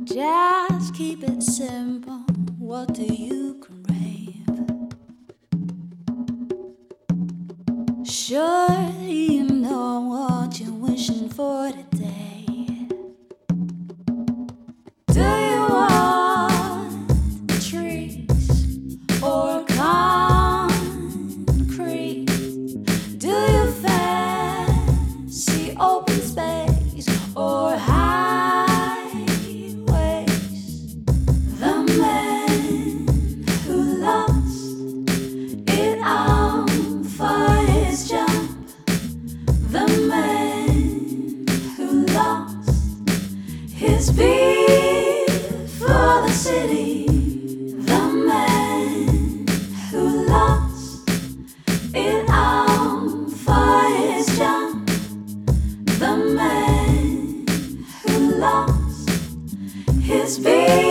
Just keep it simple. What do you crave? Surely you know what you're wishing for today. Do you want trees or concrete? Do you fancy open space or highways? The man who lost it all for his jump. The man who lost his beat for the city. The man who lost it all for his jump. The man who lost his beat.